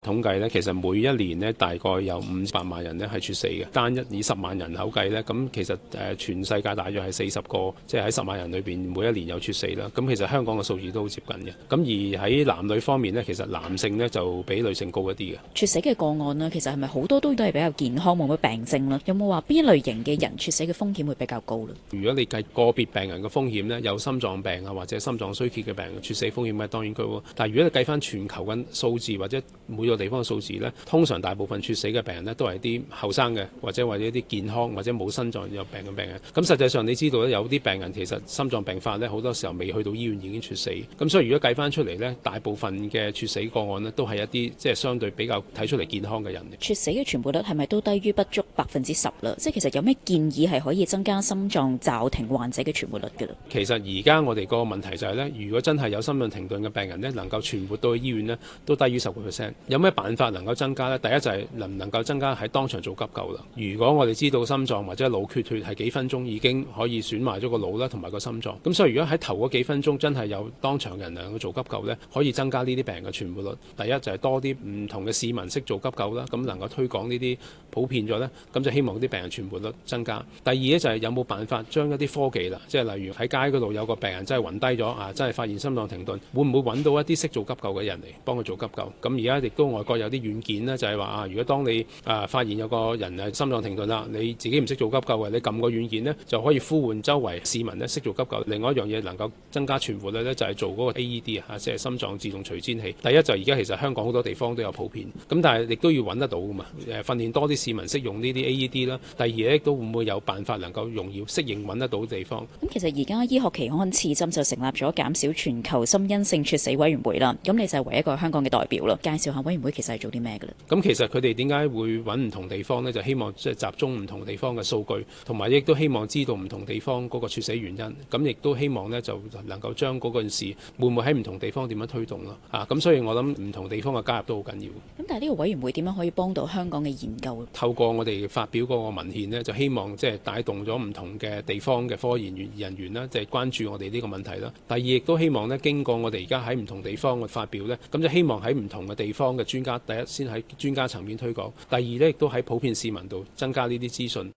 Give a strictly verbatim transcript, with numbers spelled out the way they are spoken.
統計咧，其實每一年咧大概有五百萬人咧係猝死嘅。單一以十萬人口計咧，咁其實誒全世界大約係四十個，即係喺十萬人裏邊每一年有猝死啦。咁其實香港嘅數字都好接近嘅。咁而喺男女方面咧，其實男性咧就比女性高一啲嘅。 猝死嘅個案呢，其實係咪好多都都係比較健康，冇乜病徵啦？有冇話邊一類型嘅人猝死嘅風險會比較高咧？ 如果你計個別病人嘅風險咧，有心臟病啊或者心臟衰竭嘅病人，猝死風險咧當然高。但係如果你計翻全球嘅數字或者每個地方嘅數字咧，通常大部分猝死嘅病人呢，都係啲後生嘅，或者或者一啲健康或者冇心臟有病嘅病人。咁實際上你知道咧，有啲病人其實心臟病發呢，好多時候未去到醫院已經猝死。咁所以如果計翻出嚟呢，大部分嘅猝死個案呢，都係一啲即係相對比較睇出嚟健康嘅人。 猝死嘅傳播率係咪都低於不足百分之十啦？即係其實有咩建議係可以增加心臟驟停患者嘅傳播率嘅咧？ 其實而家我哋個問題就係呢，如果真係有心臟停頓嘅病人呢，能夠傳播到去醫院呢，都低於十個 percent。有咩辦法能夠增加呢？第一就係能唔能夠增加喺當場做急救啦。如果我哋知道心臟或者腦缺血係幾分鐘已經可以損壞咗個腦啦，同埋個心臟。咁所以如果喺頭嗰幾分鐘真係有當場人能夠做急救呢，可以增加呢啲病人嘅傳播率。第一就係多啲唔同嘅市民識做急救啦，咁能夠推廣呢啲普遍咗呢，咁就希望啲病人傳播率增加。第二呢，就係有冇辦法將一啲科技啦，即係例如喺街嗰度有個病人真係暈低咗啊，真係發現心臟停頓，會唔會揾到一啲識做急救嘅人嚟幫佢做急救？咁而家亦都外國有啲軟件呢，就係話啊，如果當你啊發現有個人係心臟停頓啦，你自己唔識做急救嘅，你撳個軟件呢，就可以呼喚周圍市民呢識做急救。另外一樣嘢能夠增加傳播率呢，就係做嗰個 A E D 啊，即係心臟自動除顫器。第一就而家其實香港好多地方都有普遍，咁但係亦都要揾得到噶嘛。誒訓練多啲市民識用呢啲 A E D 啦。第二咧，都會唔會有辦法能夠容易適應揾得到地方？ 咁其實而家醫學期刊刺針就成立咗減少全球心因性猝死委員會啦。咁你就係唯一一個香港嘅代表啦。介紹下委員會其實係做啲咩嘅咧？ 咁其實佢哋點解會揾唔同地方呢？就希望即係集中唔同地方嘅數據，同埋亦都希望知道唔同地方嗰個猝死原因。咁亦都希望呢，就能夠將嗰件事會唔會喺唔同地方點樣推動咯？啊，咁所以我諗唔同地方嘅加入都好緊要。 咁但係呢個委員會點樣可以幫到香港嘅研究？ 透過我哋發表嗰個文獻呢，就希望即係帶動咗唔同嘅地方嘅科研人員啦，即係關注我哋呢個問題啦。第二亦都希望呢，經過我哋而家喺唔同地方嘅發表呢，咁就希望喺唔同嘅地方嘅專家，第一先喺專家層面推廣，第二呢亦都喺普遍市民度增加呢啲資訊。